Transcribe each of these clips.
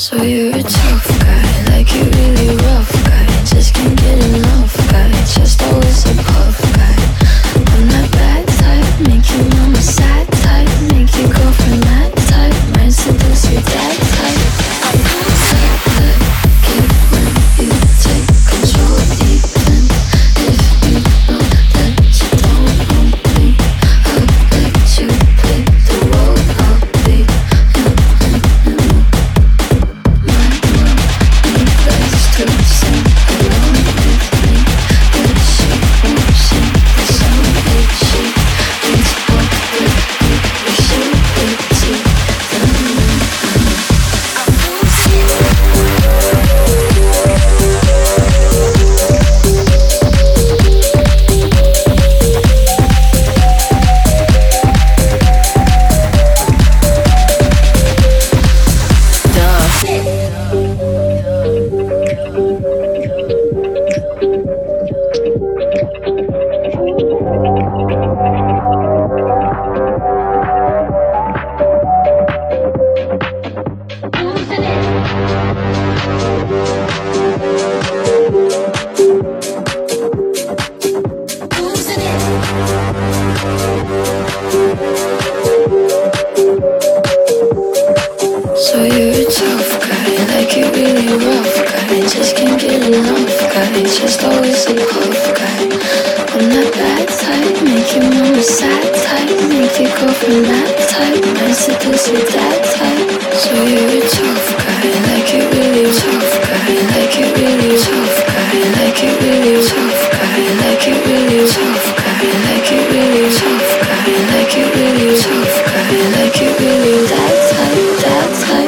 So you're a tough guy, like you really rough guy. Just can't get enough guy, just always a puff guy. I'm that bad type, make your mama sad type, make your girlfriend mad type, might seduce your dad type. I'm that type, get when you take control even if you know that you don't own me. I'll let you play the role I'll be. To sing along with me, but she won't sing the song that she needs up with me. We should be So you're a tough guy, like you really rough guy. Just can't get enough guy, just always a puff guy. I'm that bad type, make your mama sad type, make your girlfriend mad type, might seduce your dad type. So you're a tough guy, like you really tough guy, like you really tough guy, like you really tough guy, like you really tough guy, like you really tough guy, like you really tough guy, like you really dad type, dad type.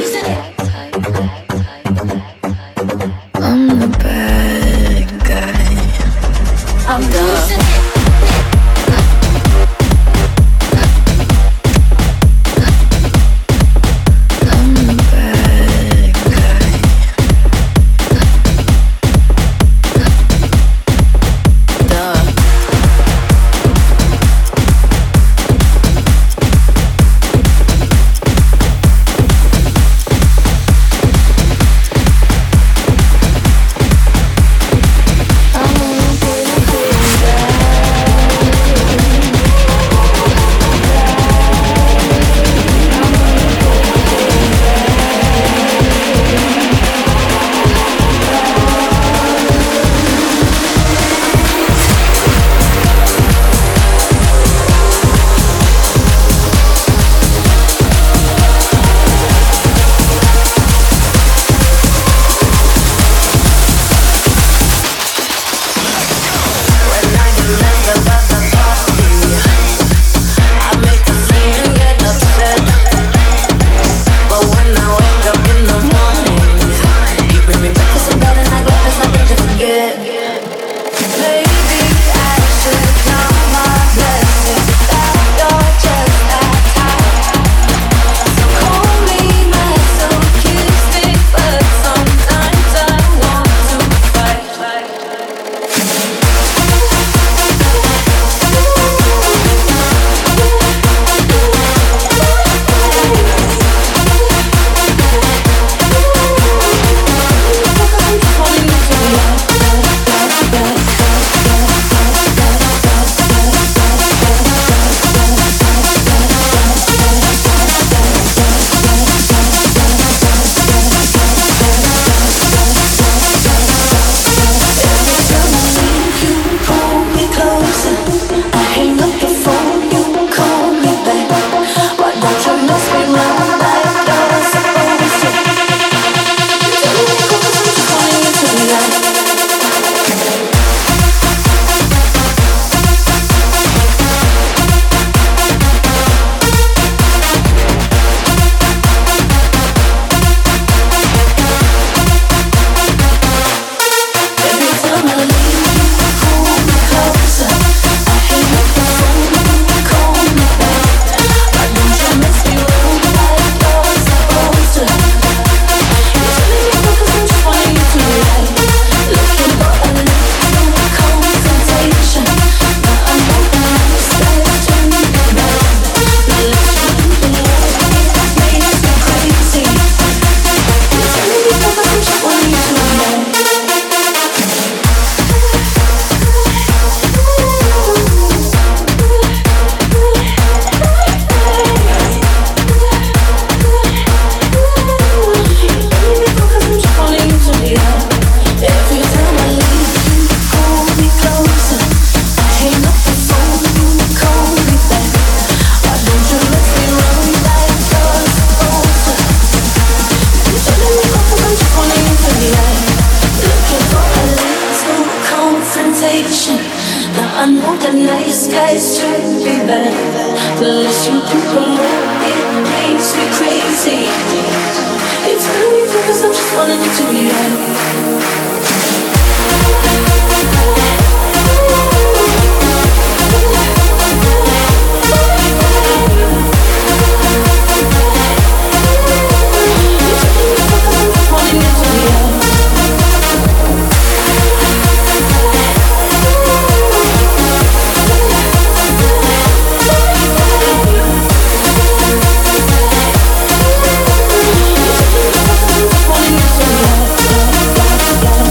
I'm the bad guy. I'm the Yeah.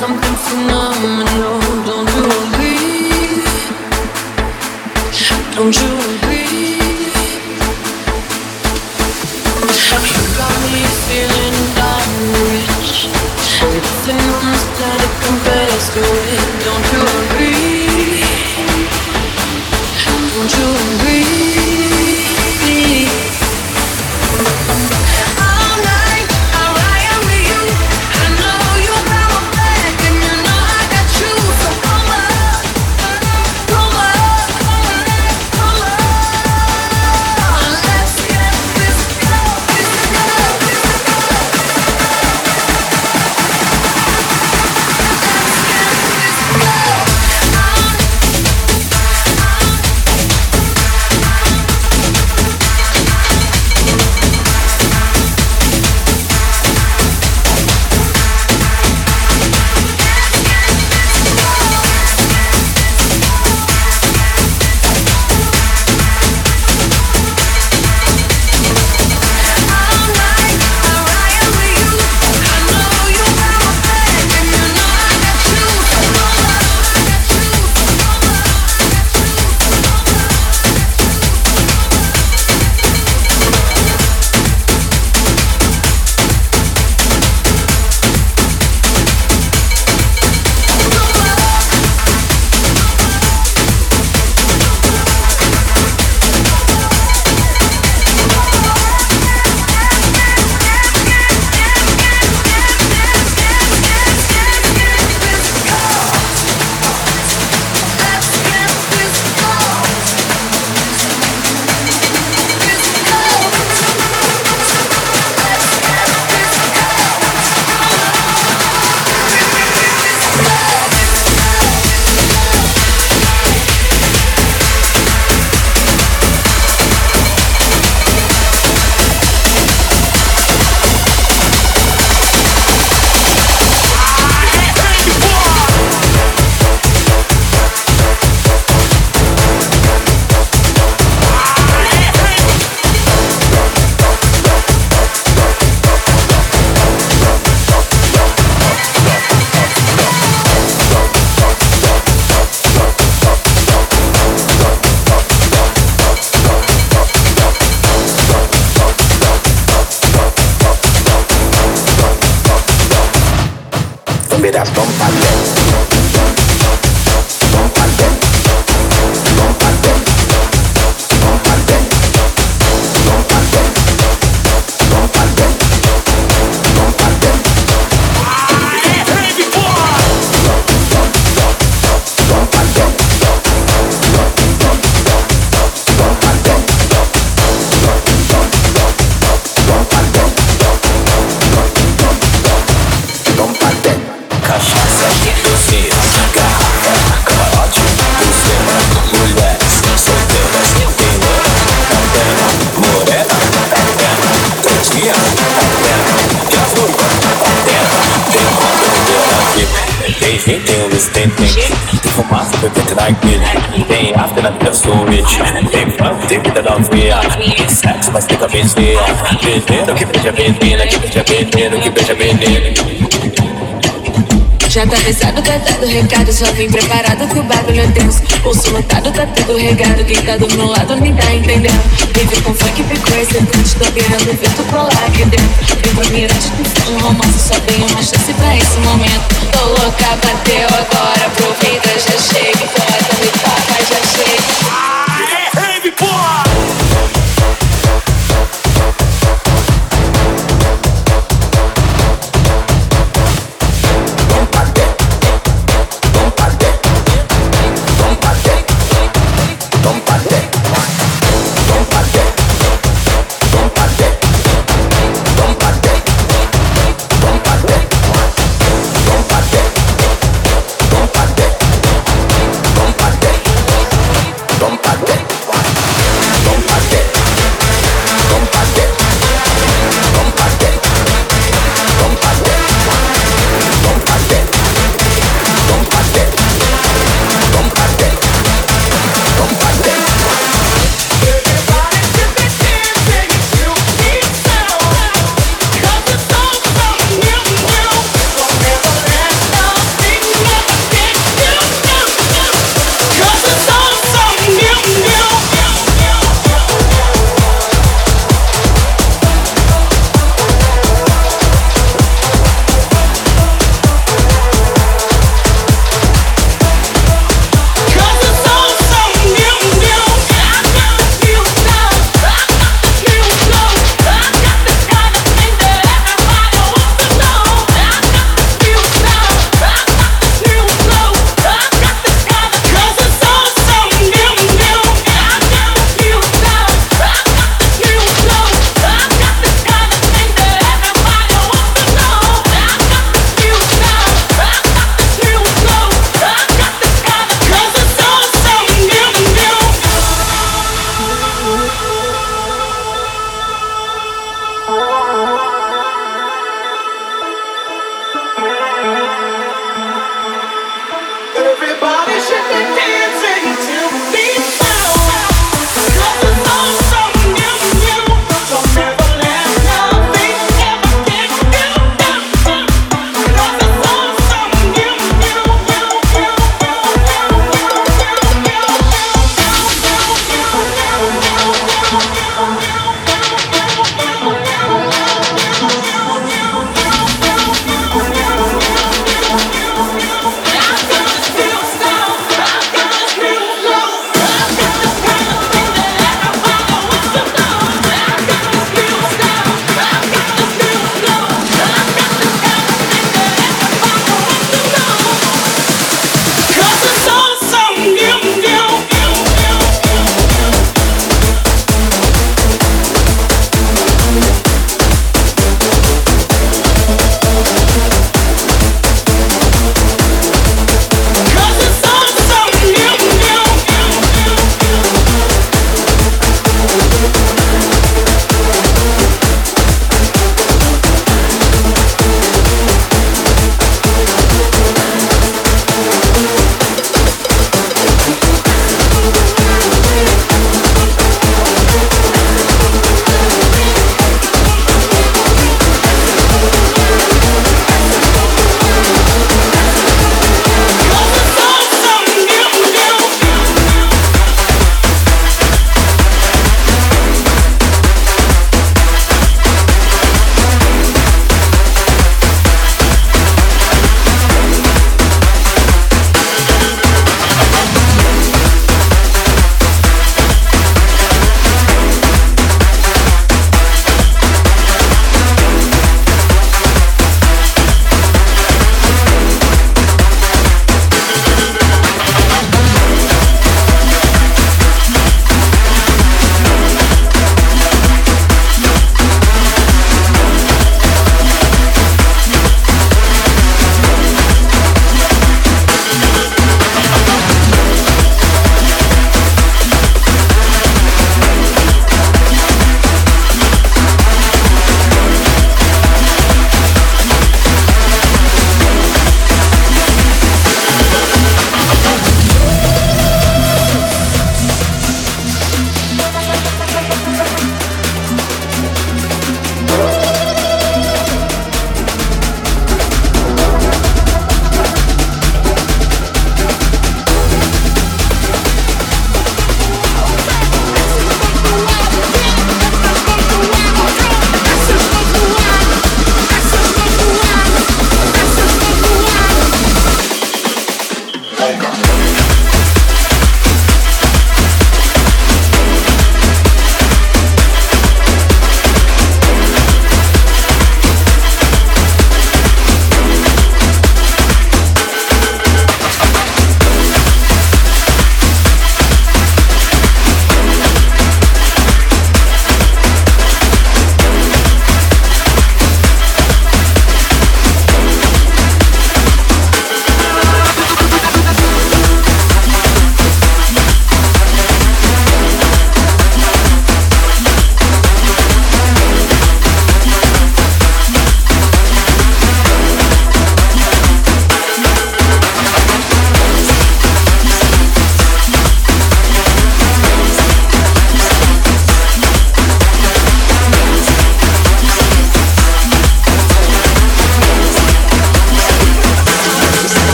something phenomenal. Don't you agree? Don't you agree? You got me feeling dark rich. Everything on this planet compares to it. Don't you agree? Don't you agree? Tem fumaça, bebê, naquele. Tem after na vida, sou rich. Tem funk, tem vida da alfeia. Tem sexo, mas tem cabeça. Veneno que beija veneno, que beija veneno, que beija veneno. Já tá avisado, tá dado recado, só vim preparado que o bagulho é tenso. Pulso lotado, tá tudo regado, quem tá do meu lado nem tá entendendo. Vive com funk, ficou excedente, tô querendo ver tu colar aqui dentro. Vem pra mim antes de fazer um romance, só tenho uma chance pra esse momento. Tô louca, bateu agora, aproveita, já chega, bota, me toca, já chega. Rave, porra!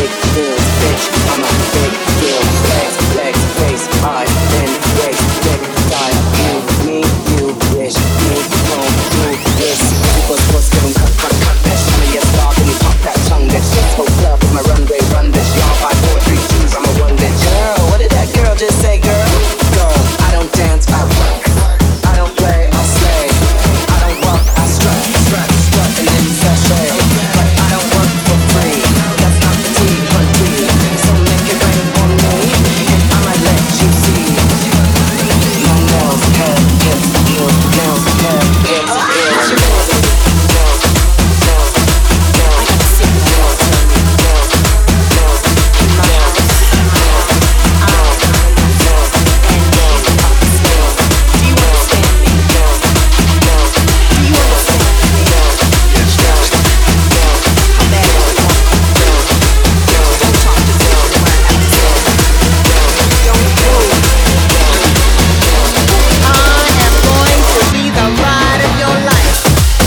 big deals, bitch. I'm a big deal. Legs, legs, face, eyes, then waist, dick, die. You, me, you, wish, me, don't do this. People's supposed to give 'em cut that. Some of your star, can you pop that tongue? That shit's so club, my runway, run this. Y'all 5, 4, 3, 2s, I'm a one that girl. What did that girl just say, girl? Girl, I don't dance, I work. I don't play, I slay. I don't walk, I strut, strut, strut, and then sashay. But I don't work for free. That's not the tea, but tea. So make it rain on me, and I might let you see. My nails, hair, hips, heels, nails, hair, hips, heels, nails, nails, nails, nails. I gotta see nails, nails, nails, nails, nails, nails, nails, and nails, nails. Do you understand me? Nails, nails. Do you understand me? Nails, nails, nails. I'm bad at it. Nails, nails. Don't talk to me when I have to say. Don't move. I am going to be the ride of your life.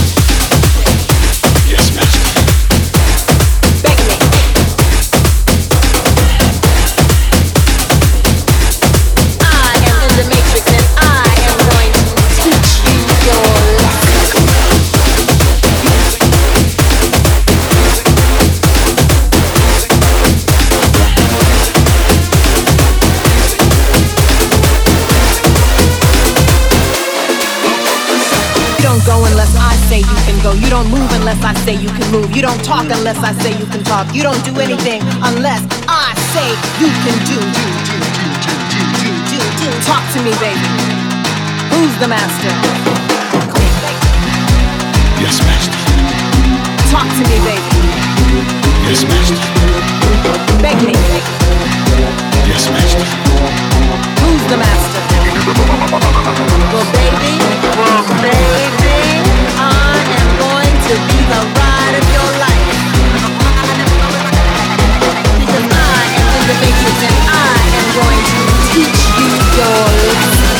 Yes, master. Beg me. I am in the matrix and I am going to teach you your lesson. You don't go unless I say you can go. You don't move unless I say you can move. You don't talk unless I say you can talk. You don't do anything unless I say you can do. Talk to me, baby. Who's the master? Yes, master. Talk to me, baby. Yes, master. Beg me. Yes, master. Who's the master? Well, baby, I am going to be the ride of your life. Because I am in the matrix and I am going to teach you your lesson.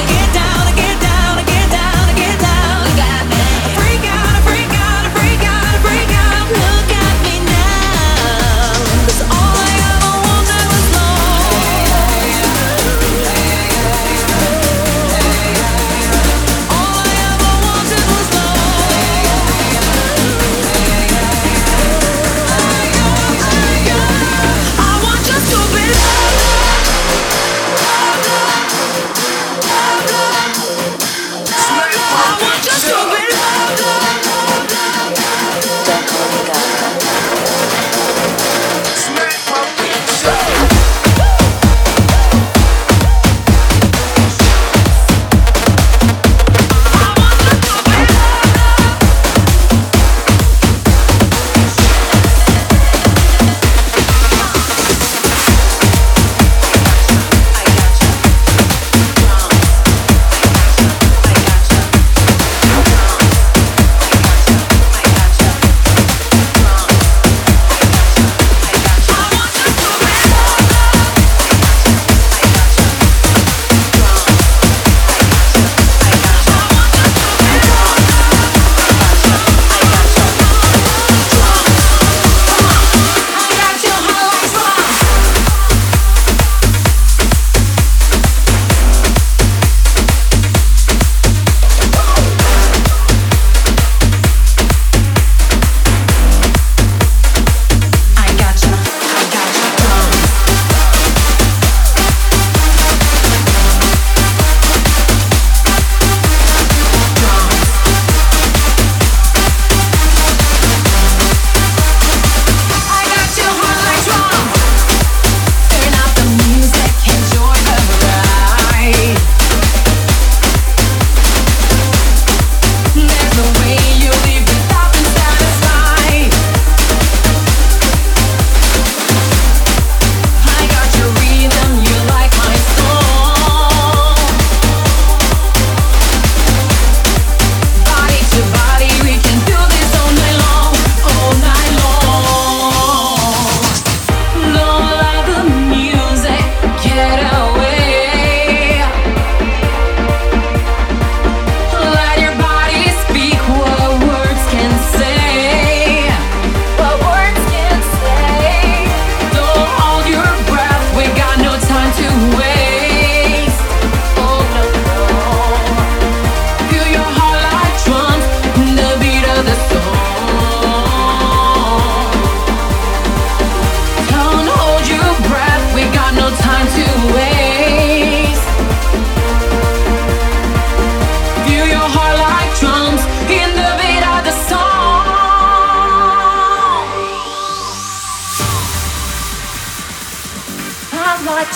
Freak out,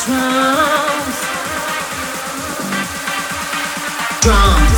drums. Drums.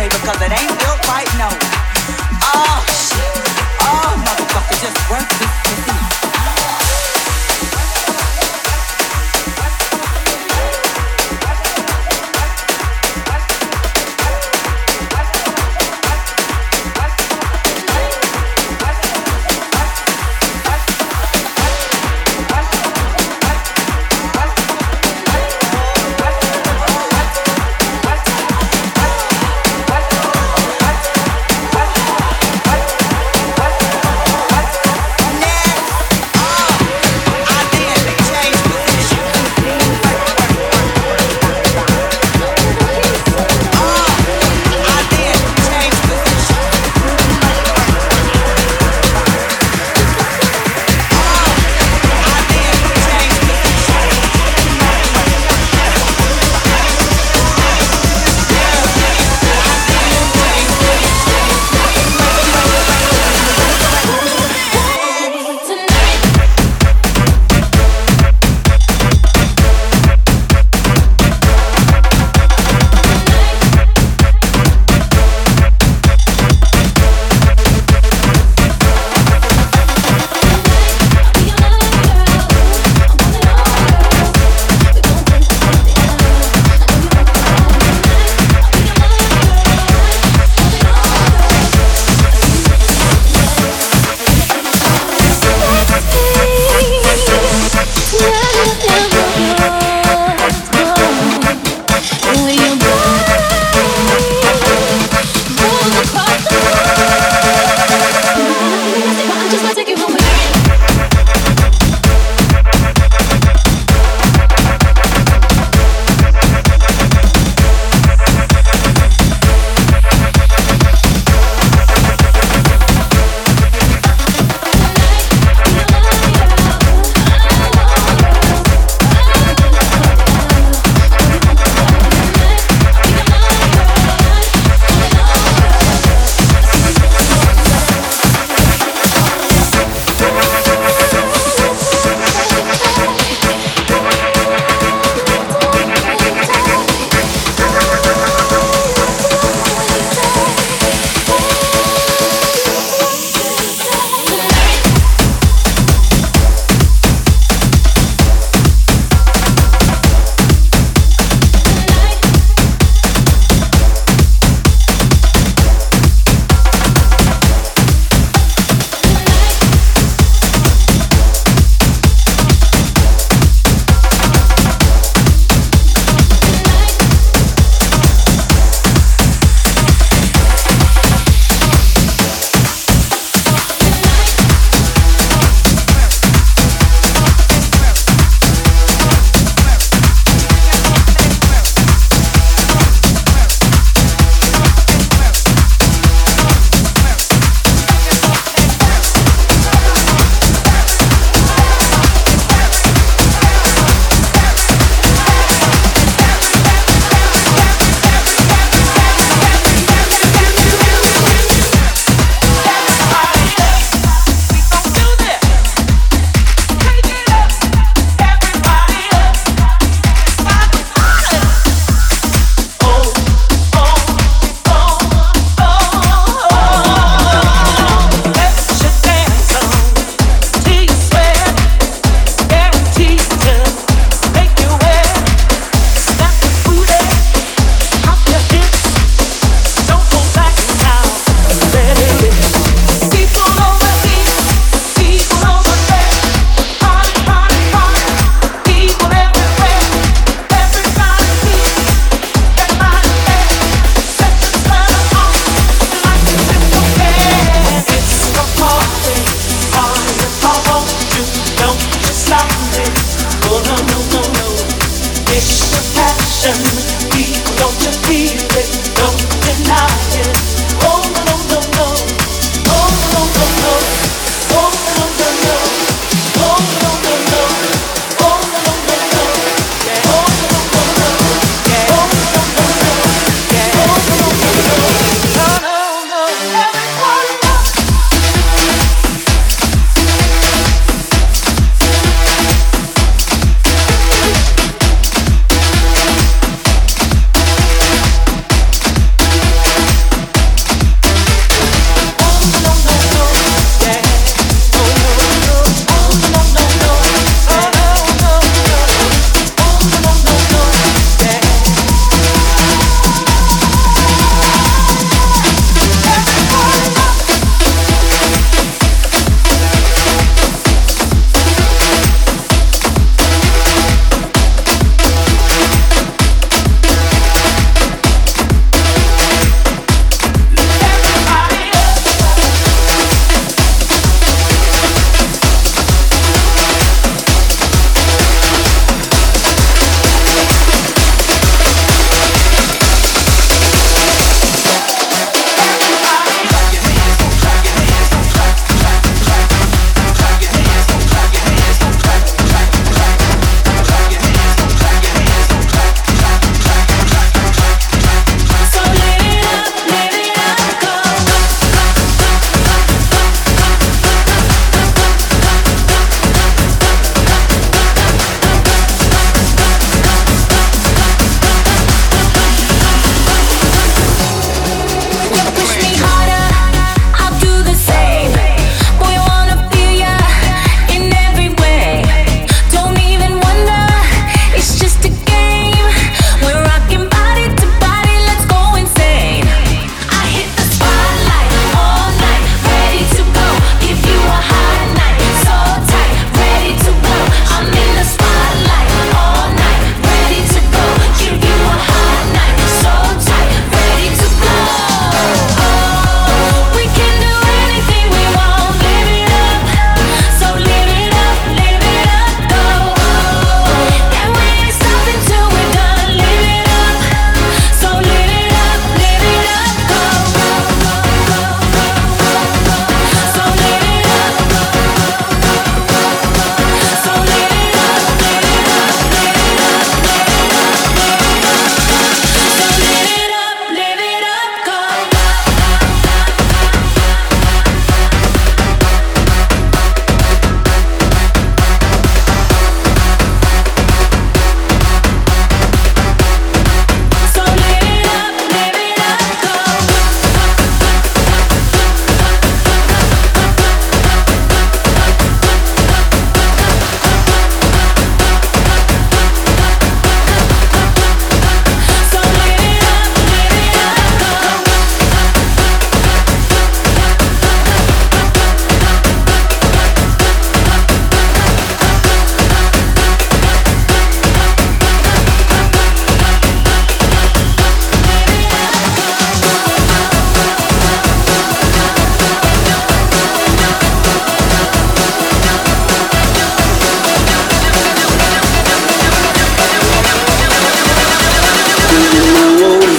play because it ain't built right, no. Oh, shit. Oh, motherfucker, just work this pussy.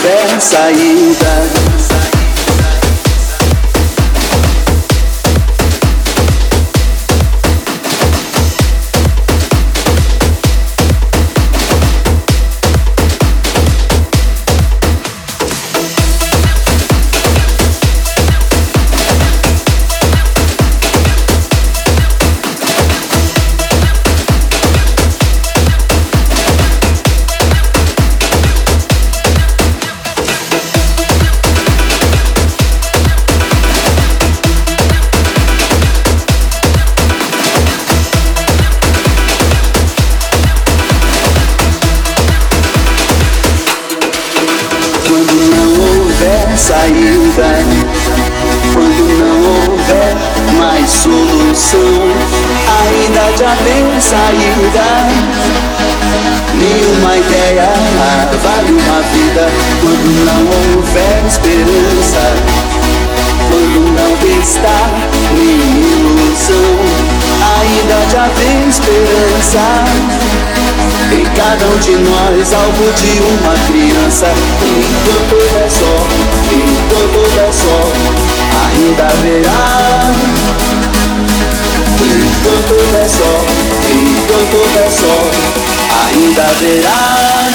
houver saída. Saída, quando não houver mais solução, ainda já tem saída. Nenhuma ideia vale uma vida quando não houver esperança, quando não está nem ilusão, ainda já tem esperança. Em cada um de nós algo de uma criança. Enquanto é só, enquanto é só, ainda haverá. Enquanto é só, enquanto é só, ainda haverá.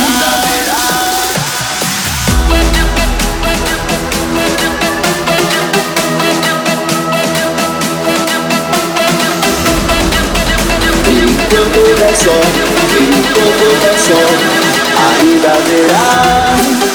Enquanto é só, ainda haverá.